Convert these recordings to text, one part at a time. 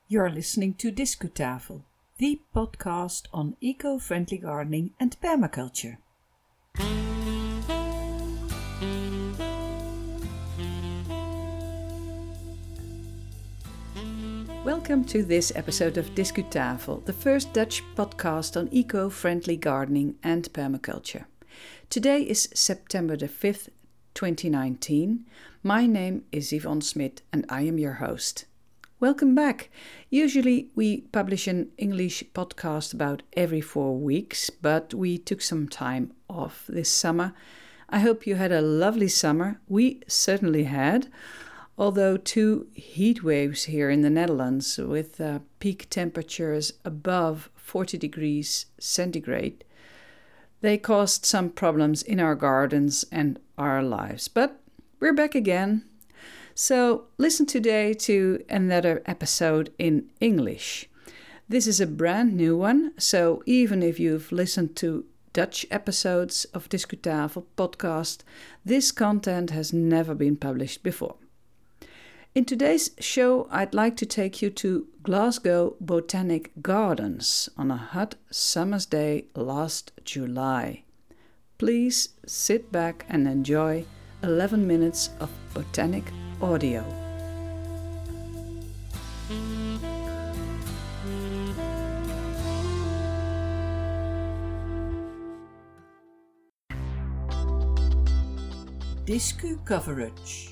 You're listening to Discutafel, the podcast on eco-friendly gardening and permaculture. Welcome to this episode of Discutafel, the first Dutch podcast on eco-friendly gardening and permaculture. Today is September the 5th, 2019. My name is Yvonne Smit and I am your host. Welcome back. Usually we publish an English podcast about every 4 weeks, but we took some time off this summer. I hope you had a lovely summer. We certainly had, although 2 heat waves here in the Netherlands with peak temperatures above 40 degrees centigrade. They caused some problems in our gardens and our lives, but we're back again. So listen today to another episode in English. This is a brand new one, so even if you've listened to Dutch episodes of Discutafel podcast, this content has never been published before. In today's show, I'd like to take you to Glasgow Botanic Gardens on a hot summer's day last July. Please sit back and enjoy 11 minutes of botanic audio. Discu coverage.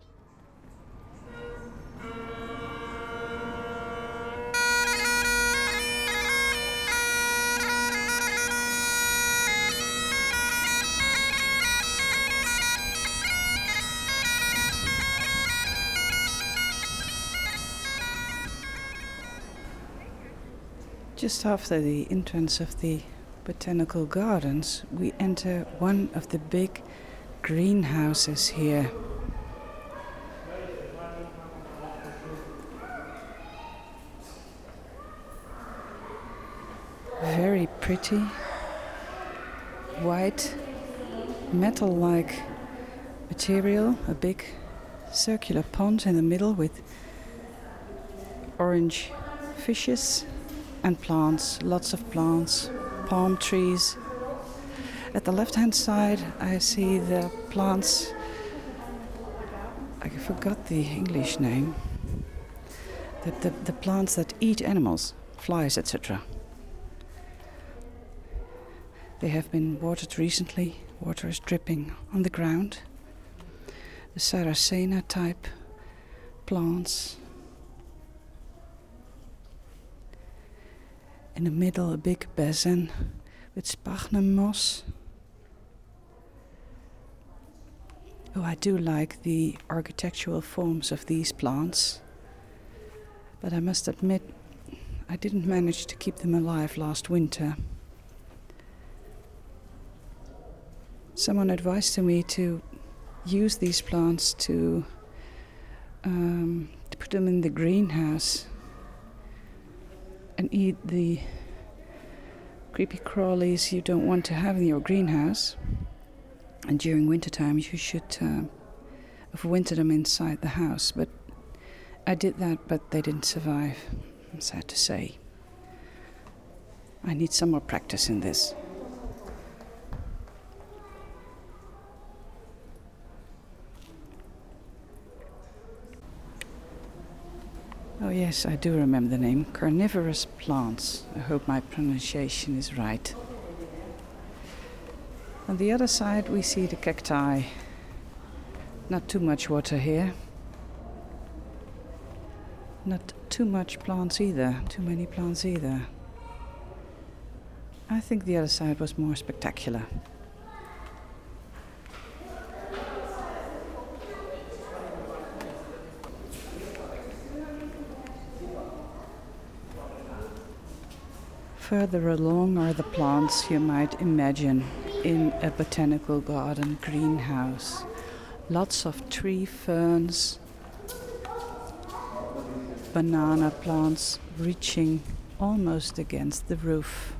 Just after the entrance of the botanical gardens, we enter one of the big greenhouses here. Very pretty, white, metal-like material, a big circular pond in the middle with orange fishes. And plants, lots of plants, palm trees. At the left-hand side, I see the plants, I forgot the English name, the plants that eat animals, flies, etc. They have been watered recently, water is dripping on the ground. The Sarracenia type plants. In the middle, a big basin with sphagnum moss. Oh, I do like the architectural forms of these plants, but I must admit, I didn't manage to keep them alive last winter. Someone advised me to use these plants to put them in the greenhouse and eat the creepy crawlies you don't want to have in your greenhouse. And during wintertime you should overwinter them inside the house. But I did that, but they didn't survive, I'm sad to say. I need some more practice in this. Oh yes, I do remember the name. Carnivorous plants. I hope my pronunciation is right. On the other side we see the cacti. Not too much water here. Not too much plants either. Too many plants either. I think the other side was more spectacular. Further along are the plants you might imagine in a botanical garden greenhouse. Lots of tree ferns, banana plants reaching almost against the roof.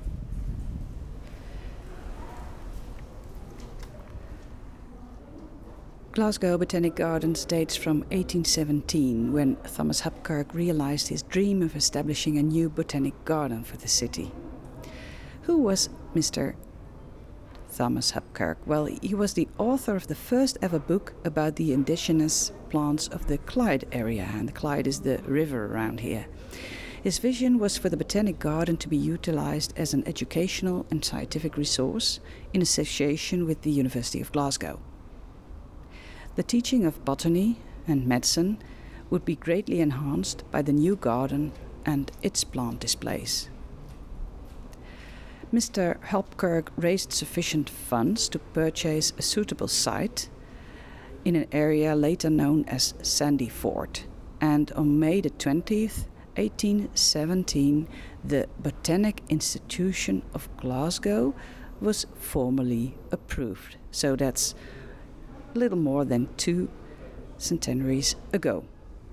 Glasgow Botanic Gardens dates from 1817, when Thomas Hapkirk realized his dream of establishing a new botanic garden for the city. Who was Mr. Thomas Hapkirk? Well, he was the author of the first ever book about the indigenous plants of the Clyde area, and the Clyde is the river around here. His vision was for the Botanic Garden to be utilized as an educational and scientific resource in association with the University of Glasgow. The teaching of botany and medicine would be greatly enhanced by the new garden and its plant displays. Mr. Hapkirk raised sufficient funds to purchase a suitable site in an area later known as Sandyford, and on May the 20th, 1817, the Botanic Institution of Glasgow was formally approved. So that's a little more than 2 centenaries ago.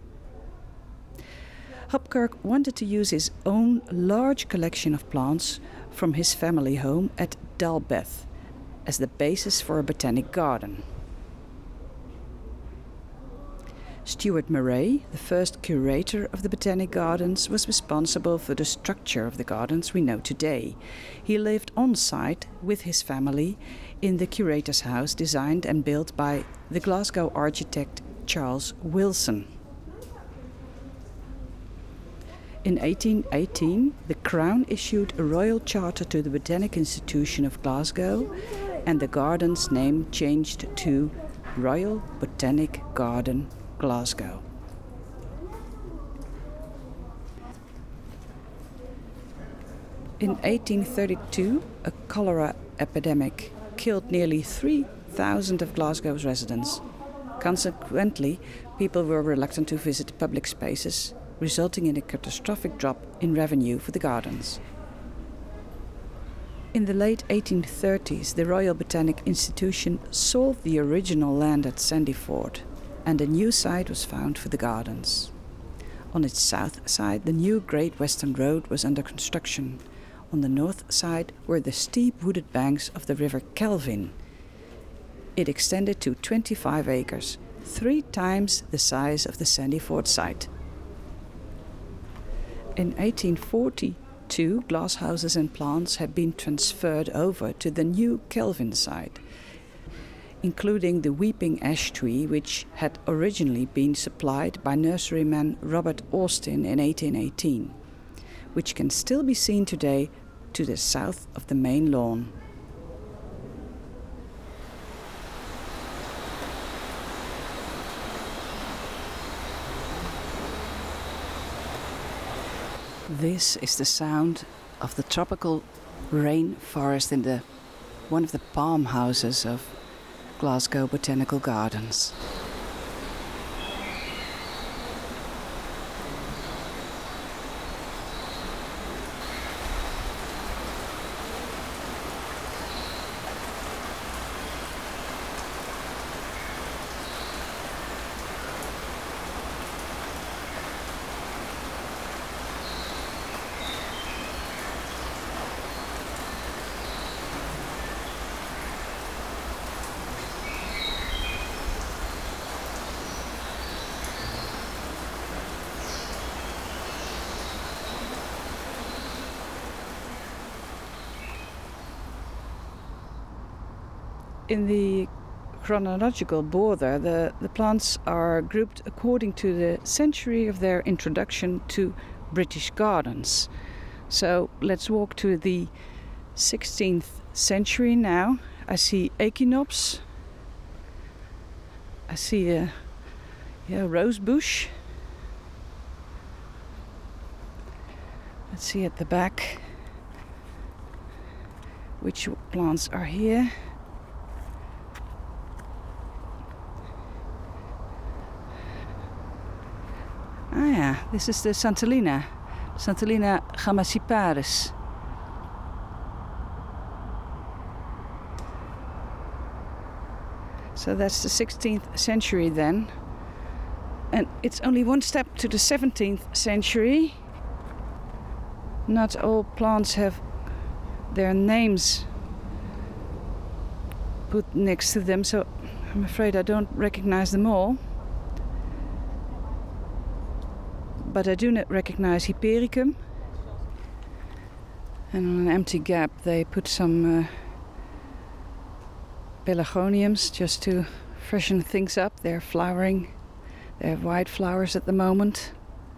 Hapkirk wanted to use his own large collection of plants from his family home at Dalbeth as the basis for a botanic garden. Stuart Murray, the first curator of the Botanic Gardens, was responsible for the structure of the gardens we know today. He lived on site with his family in the curator's house designed and built by the Glasgow architect Charles Wilson. In 1818, the Crown issued a royal charter to the Botanic Institution of Glasgow, and the garden's name changed to Royal Botanic Garden, Glasgow. In 1832, a cholera epidemic killed nearly 3,000 of Glasgow's residents. Consequently, people were reluctant to visit public spaces, resulting in a catastrophic drop in revenue for the gardens. In the late 1830s, the Royal Botanic Institution sold the original land at Sandyford, and a new site was found for the gardens. On its south side, the new Great Western Road was under construction. On the north side were the steep wooded banks of the River Kelvin. It extended to 25 acres, 3 times the size of the Sandyford site. In 1842, glasshouses and plants had been transferred over to the new Kelvin site, including the weeping ash tree, which had originally been supplied by nurseryman Robert Austin in 1818, which can still be seen today to the south of the main lawn. This is the sound of the tropical rainforest in one of the palm houses of Glasgow Botanical Gardens. In the chronological border, the plants are grouped according to the century of their introduction to British gardens. So let's walk to the 16th century now. I see echinops. I see a rose bush. Let's see at the back which plants are here. Ah yeah, this is the Santolina Gamassiparis. So that's the 16th century then. And it's only one step to the 17th century. Not all plants have their names put next to them, so I'm afraid I don't recognize them all. But I do recognize Hypericum. And on an empty gap they put some pelargoniums just to freshen things up. They're flowering. They have white flowers at the moment.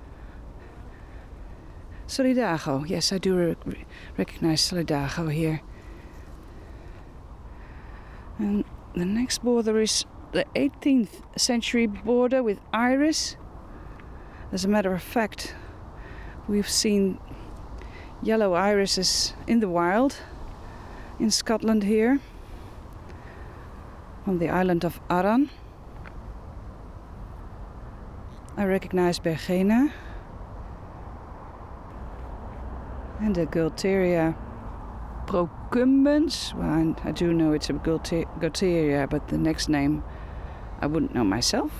Solidago. Yes, I do recognize Solidago here. And the next border is the 18th century border with iris. As a matter of fact, we've seen yellow irises in the wild in Scotland here on the island of Arran. I recognize Bergena and the Gualteria procumbens. Well, I do know it's a Gualteria, but the next name I wouldn't know myself.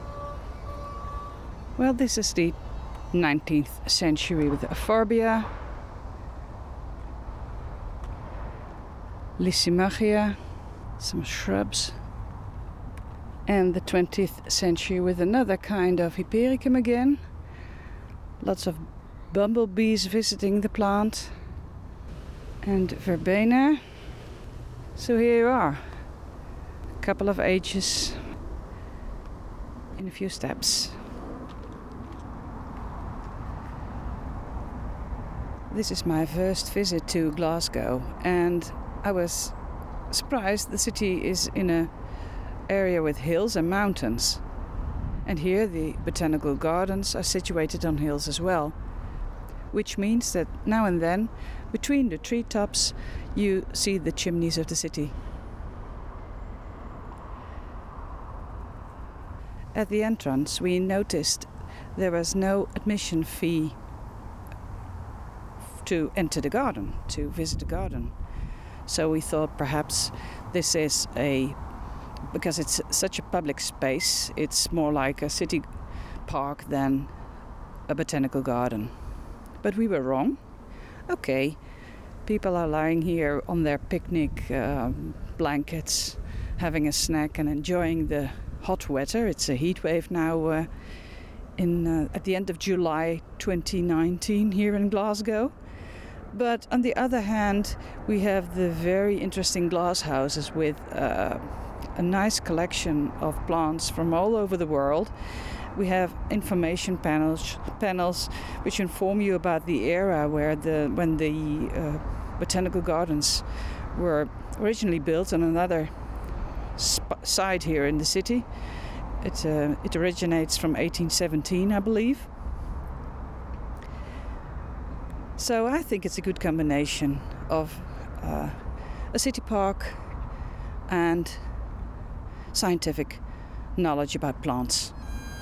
Well, this is the 19th century with the Euphorbia, Lysimachia, some shrubs, and the 20th century with another kind of Hypericum again. Lots of bumblebees visiting the plant, and Verbena. So here you are, a couple of ages in a few steps. This is my first visit to Glasgow, and I was surprised. The city is in an area with hills and mountains. And here the botanical gardens are situated on hills as well, which means that now and then, between the treetops, you see the chimneys of the city. At the entrance, we noticed there was no admission fee to enter the garden, to visit the garden. So we thought perhaps this is because it's such a public space, it's more like a city park than a botanical garden. But we were wrong. Okay, people are lying here on their picnic blankets, having a snack and enjoying the hot weather. It's a heat wave now at the end of July 2019 here in Glasgow. But on the other hand, we have the very interesting glass houses with a nice collection of plants from all over the world. We have information panels which inform you about the era when the botanical gardens were originally built on another site here in the city. It originates from 1817, I believe. So I think it's a good combination of a city park and scientific knowledge about plants.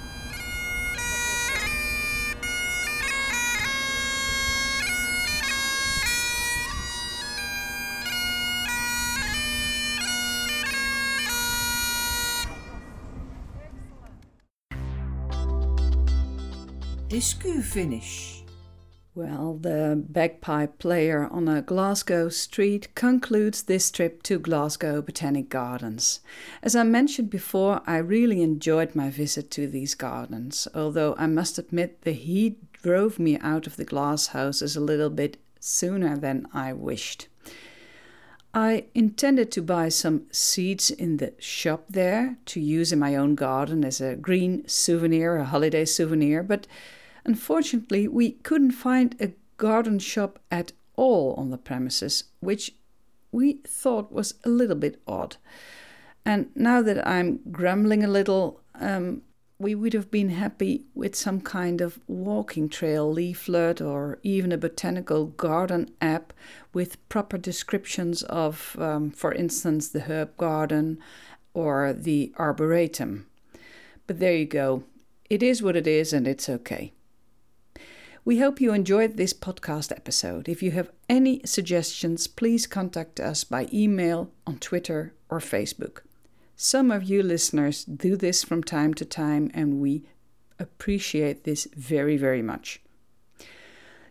Discu finish. Well, the bagpipe player on a Glasgow street concludes this trip to Glasgow Botanic Gardens. As I mentioned before, I really enjoyed my visit to these gardens, although I must admit the heat drove me out of the glass houses a little bit sooner than I wished. I intended to buy some seeds in the shop there to use in my own garden as a green souvenir, a holiday souvenir, but unfortunately, we couldn't find a garden shop at all on the premises, which we thought was a little bit odd. And now that I'm grumbling a little, we would have been happy with some kind of walking trail leaflet or even a botanical garden app with proper descriptions of, for instance, the herb garden or the arboretum. But there you go. It is what it is, and it's okay. We hope you enjoyed this podcast episode. If you have any suggestions, please contact us by email, on Twitter or Facebook. Some of you listeners do this from time to time, and we appreciate this very, very much.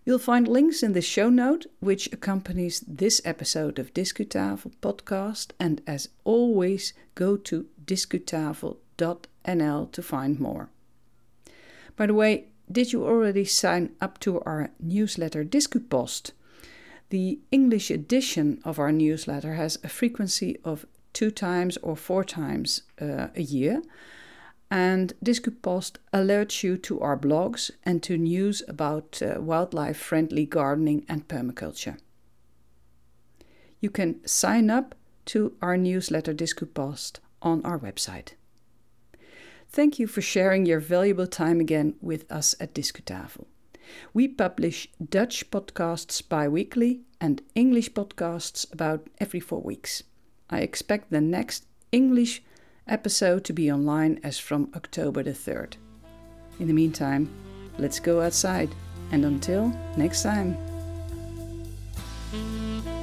You'll find links in the show note, which accompanies this episode of Discutafel podcast. And as always, go to discutafel.nl to find more. By the way, did you already sign up to our newsletter Discupost? The English edition of our newsletter has a frequency of 2 times or 4 times a year. And Discupost alerts you to our blogs and to news about wildlife-friendly gardening and permaculture. You can sign up to our newsletter Discupost on our website. Thank you for sharing your valuable time again with us at Discutafel. We publish Dutch podcasts bi-weekly and English podcasts about every 4 weeks. I expect the next English episode to be online as from October the 3rd. In the meantime, let's go outside, and until next time.